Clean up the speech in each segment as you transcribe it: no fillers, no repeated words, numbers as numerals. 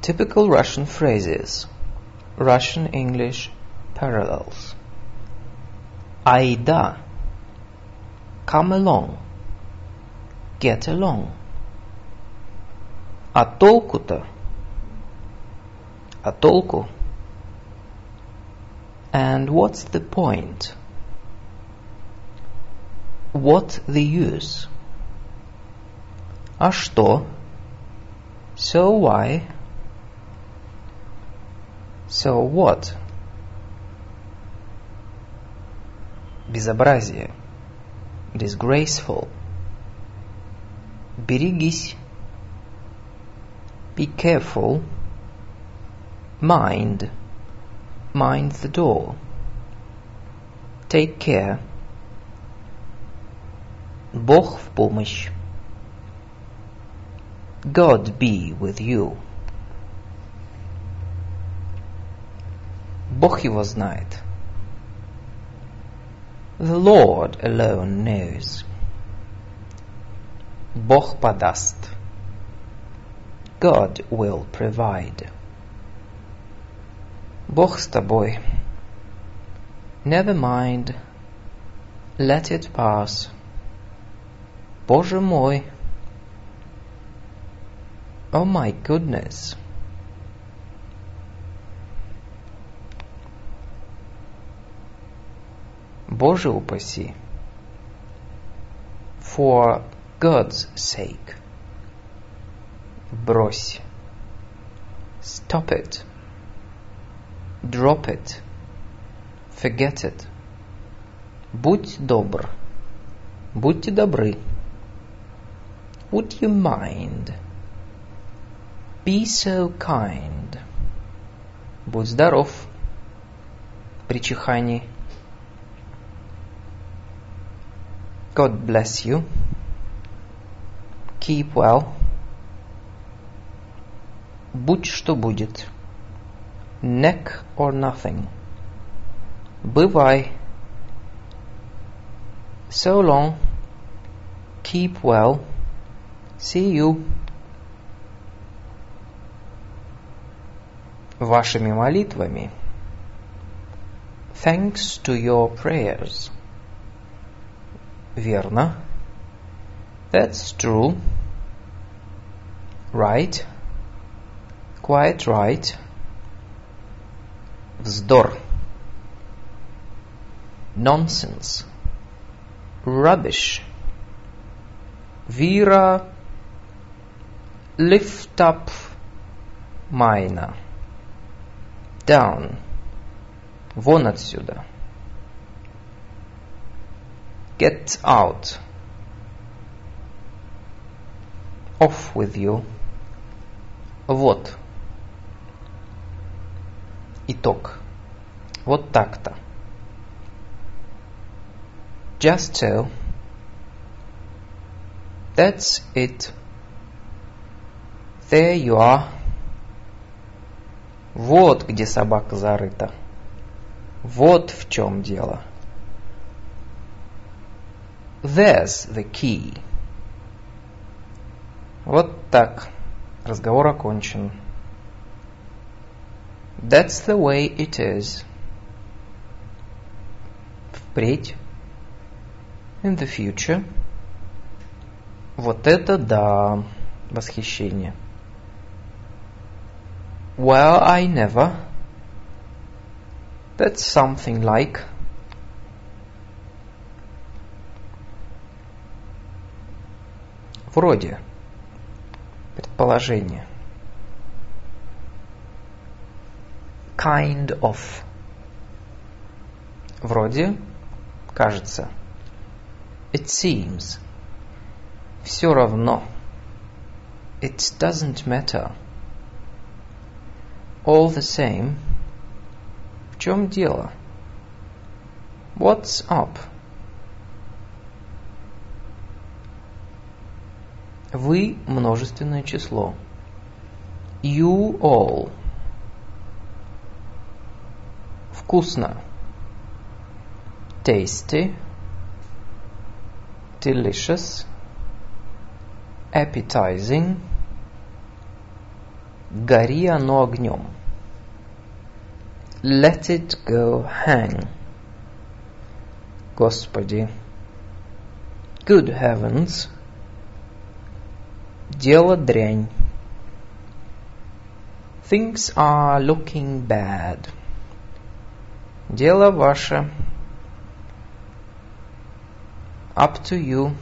Typical Russian phrases. Russian-English parallels. Айда. Come along. Get along. А толку-то? А толку? And what's the point? What the use? А что? So why? So what? Безобразие. Disgraceful. Берегись. Be careful. Mind. Mind the door. Take care. Бог в помощь. God be with you. Бог его знает. The Lord alone knows. Бог подаст. God will provide. Бог с тобой. Never mind. Let it pass. Боже мой. Oh my goodness. Боже упаси. For God's sake. Брось. Stop it. Drop it. Forget it. Будь добр. Будьте добры. Would you mind? Be so kind. Будь здоров. При чихании. God bless you. Keep well. Будь что будет. Neck or nothing. Бывай. So long. Keep well. See you. Вашими молитвами. Thanks to your prayers. Верно. That's true. Right. Quite right. Вздор. Nonsense. Rubbish. Вира. Lift up. Майна. Down. Вон отсюда. Get out. Off with you. Вот. Итог. Вот так-то. Just so. That's it. There you are. Вот где собака зарыта. Вот в чем дело. There's the key. Вот так. Разговор окончен. That's the way it is. Впредь. In the future. Вот это да. Восхищение. Well, I never. That's something like. Вроде. Предположение. Kind of. Вроде. Кажется. It seems. Все равно. It doesn't matter. All the same. В чем дело? What's up? Вы множественное число. You all. Вкусно. Tasty. Delicious. Appetizing. Гори оно огнем. Let it go hang. Господи. Good heavens. Дело дрянь. Things are looking bad. Дело ваше. Up to you.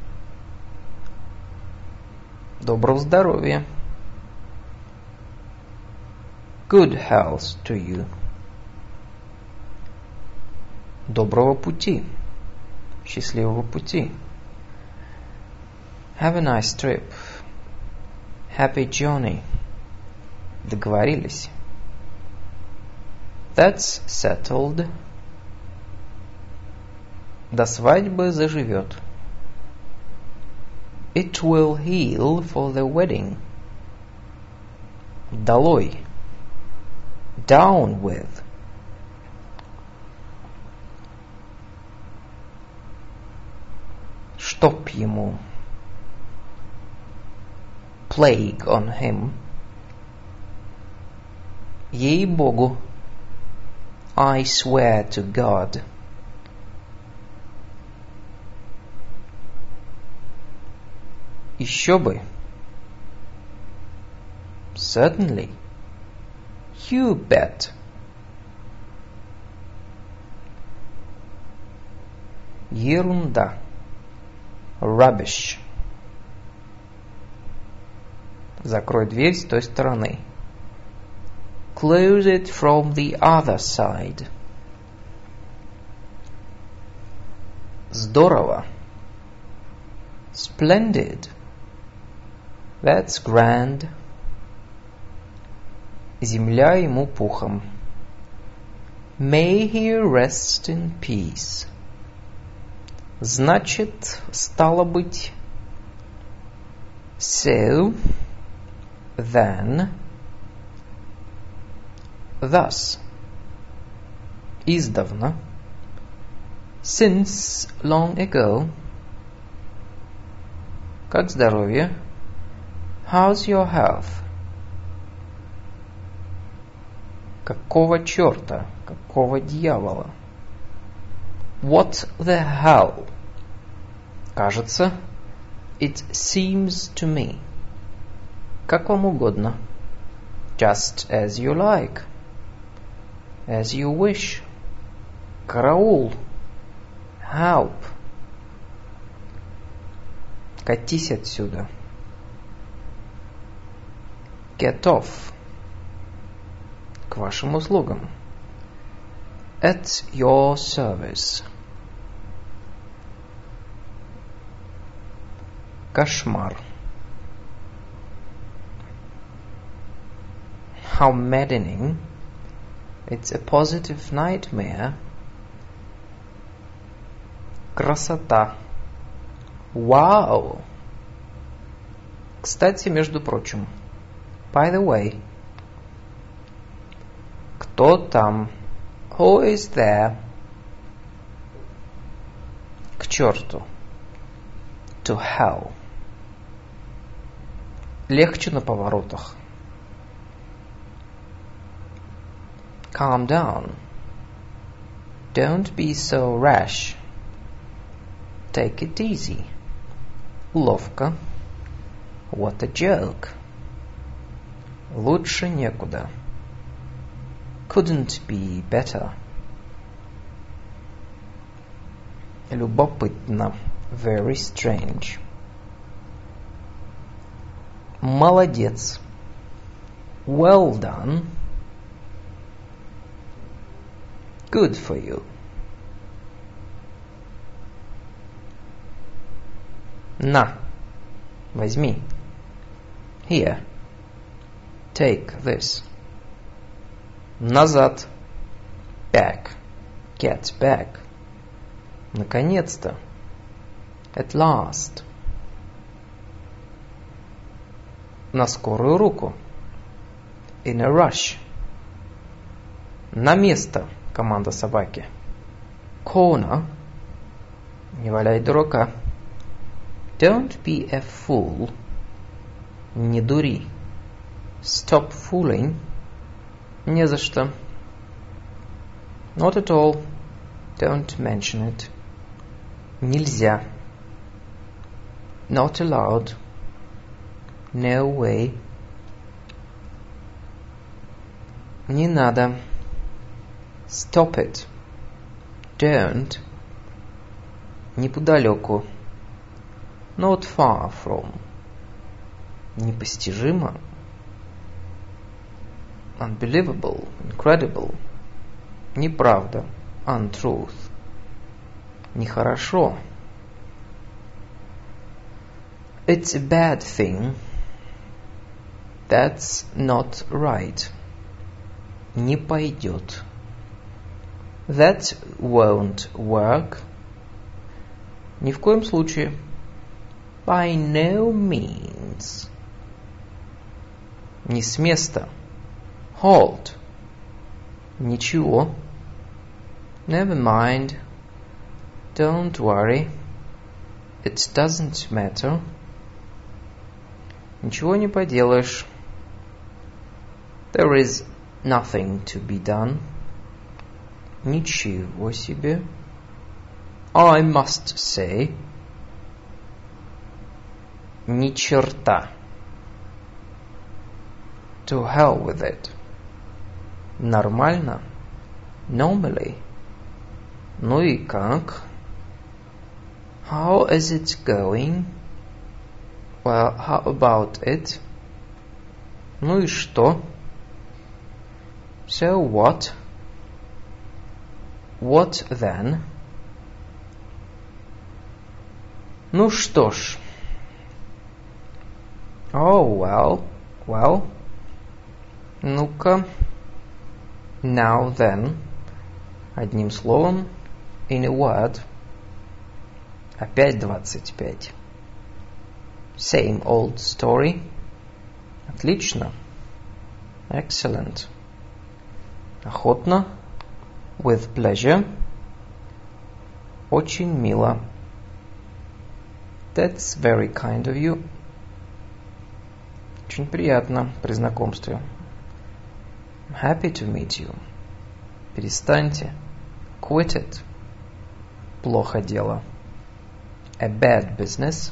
Доброго здоровья. Good health to you. Доброго пути. Счастливого пути. Have a nice trip. Happy journey. Договорились. That's settled. До свадьбы заживет. It will heal for the wedding. Долой. Down with. Чтоб ему. Plague on him. Ей-богу. I swear to God. Еще бы. Certainly. You bet. Ерунда. Rubbish. Закрой дверь с той стороны. Close it from the other side. Здорово. Splendid. That's grand. Земля ему пухом. May he rest in peace. Значит, стало быть. So, then, thus. Издавна. Since long ago. Как здоровье? How's your health? Какого черта? Какого дьявола? What the hell? Кажется. It seems to me. Как вам угодно. Just as you like. As you wish. Караул. Help. Катись отсюда. Get off. К вашим услугам. At your service. Кошмар. How maddening. It's a positive nightmare. Красота. Wow. Кстати, между прочим. By the way. Кто там? Who is there? К черту. To hell. Легче на поворотах. Calm down. Don't be so rash. Take it easy. Ловко. What a joke. Лучше некуда. Couldn't be better. Любопытно. Very strange. Молодец. Well done. Good for you. На. Возьми. Here. Take this. Назад. Back. Get back. Наконец-то. At last. На скорую руку. In a rush. На место. Команда собаки. Corner. Не валяй дурака. Don't be a fool. Не дури. Stop fooling. Не за что. Not at all. Don't mention it. Нельзя. Not allowed. No way. Не надо. Stop it. Don't. Неподалеку. Not far from. Непостижимо. Unbelievable. Incredible. Неправда. Untruth. Нехорошо. It's a bad thing. That's not right. Не пойдет. That won't work. Ни в коем случае. By no means. Не с места. Halt. Ничего. Never mind. Don't worry. It doesn't matter. Ничего не поделаешь. There is nothing to be done. Ничего себе. I must say. Ни черта. To hell with it. Нормально. Normally. Ну и как? How is it going? Well, how about it? Ну и что? So what? What then? Ну что ж. Oh, well. Ну-ка. Now then. Одним словом. In a word. Опять 25. Same old story. Отлично. Excellent. Охотно. With pleasure. Очень мило. That's very kind of you. Очень приятно при знакомстве. I'm happy to meet you. Перестаньте. Quit it. Плохо дело. A bad business.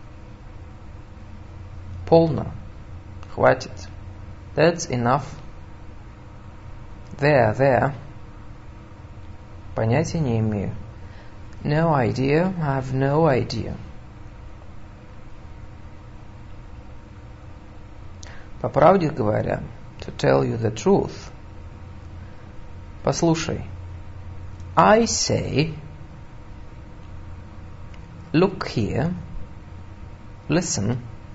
Полно. Хватит. That's enough. There. Понятия не имею. No idea. I have no idea. По правде говоря, to tell you the truth. Послушай. I say. Look here. Listen.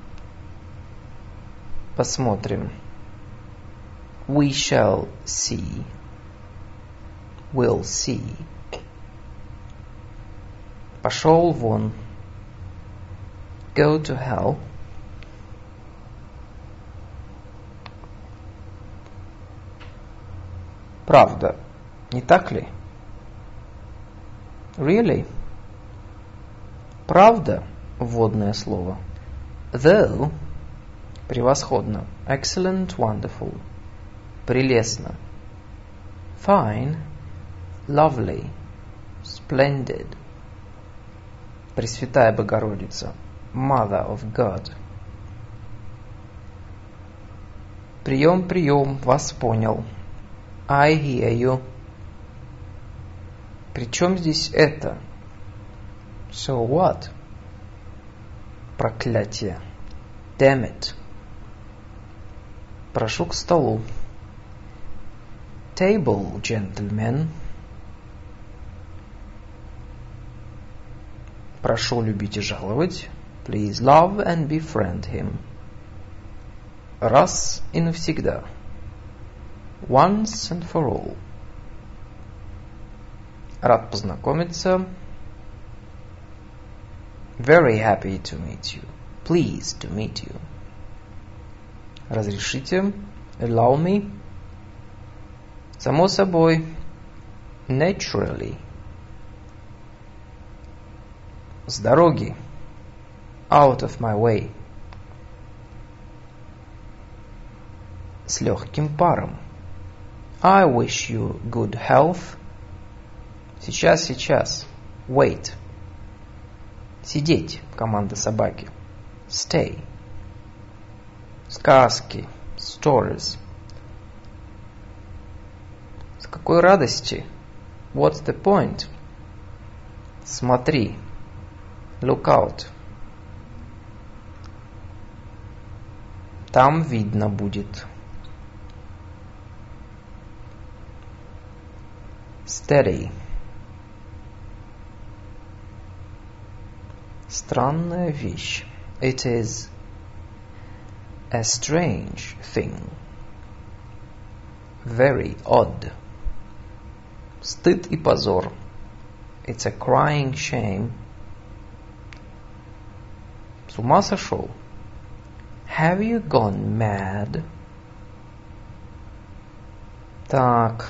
Посмотрим. We shall see. We'll see. Пошел вон. Go to hell. Правда, не так ли? Really? Правда, вводное слово. Though, превосходно. Excellent, wonderful. Прелестно. Fine, lovely, splendid. Пресвятая Богородица. Mother of God. Прием, вас понял. I hear you. При чем здесь это? So what? Проклятие. Damn it. Прошу к столу. Table, gentlemen. Прошу любить и жаловать. Please love and befriend him. Раз и навсегда. Once and for all. Рад познакомиться. Very happy to meet you. Pleased to meet you. Разрешите. Allow me. Само собой. Naturally. С дороги. Out of my way. с легким паром. I wish you good health. Сейчас. Wait. Сидеть, команда собаки. Stay. Сказки. Stories. С какой радости? What's the point? Смотри. Look out. Там видно будет. Steady. Странная вещь. It is a strange thing. Very odd. Стыд и позор. It's a crying shame. С ума сошел? Have you gone mad? Так.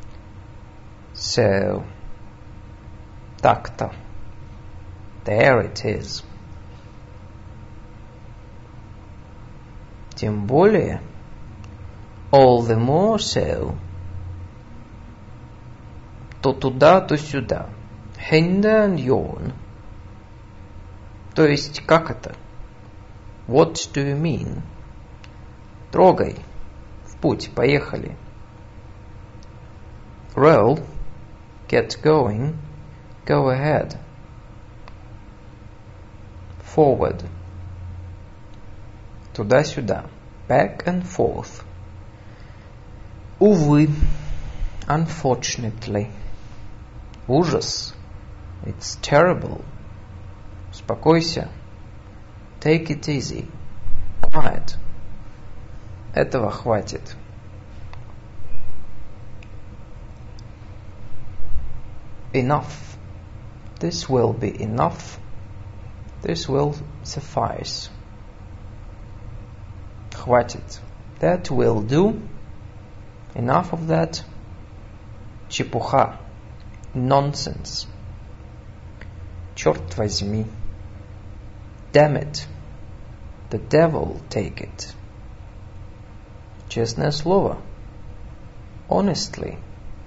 So. Так-то. There it is. Тем более. All the more so. То туда, то сюда. Hinder and yawn. То есть, как это? What do you mean? Трогай. В путь, поехали. Roll. Get going. Go ahead. Forward. Туда-сюда. Back and forth. Увы. Unfortunately. Ужас. It's terrible. Успокойся. Take it easy. Quiet. Этого хватит. Enough. This will be enough. This will suffice. Хватит. That will do. Enough of that. Чепуха. Nonsense. Черт возьми. Damn it. The devil take it. Честное слово. Honestly.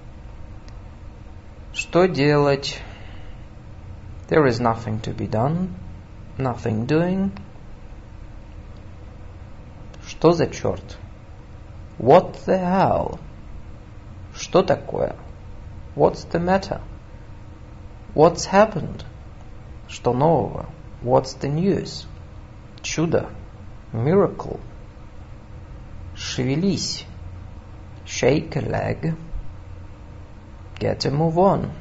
Что делать? There is nothing to be done. Nothing doing. Что за черт? What the hell? Что такое? What's the matter? What's happened? Что нового? What's the news? Чудо. Miracle. Шевелись. Shake a leg. Get a move on.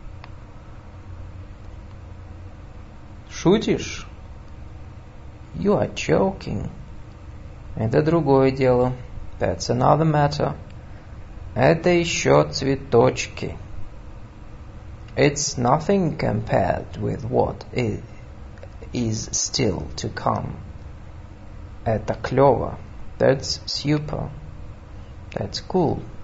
Шутишь? You are joking. Это другое дело. That's another matter. Это еще цветочки. It's nothing compared with what is still to come. Это клево. That's super. That's cool.